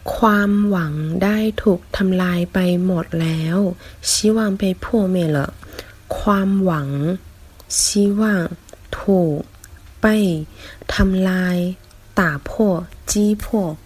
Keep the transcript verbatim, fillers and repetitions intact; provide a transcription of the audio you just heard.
ความหวังได้ถูกทำลายไปหมดแล้ว希望被破灭了ความหวัง希望ถูก被ทำลาย打破击破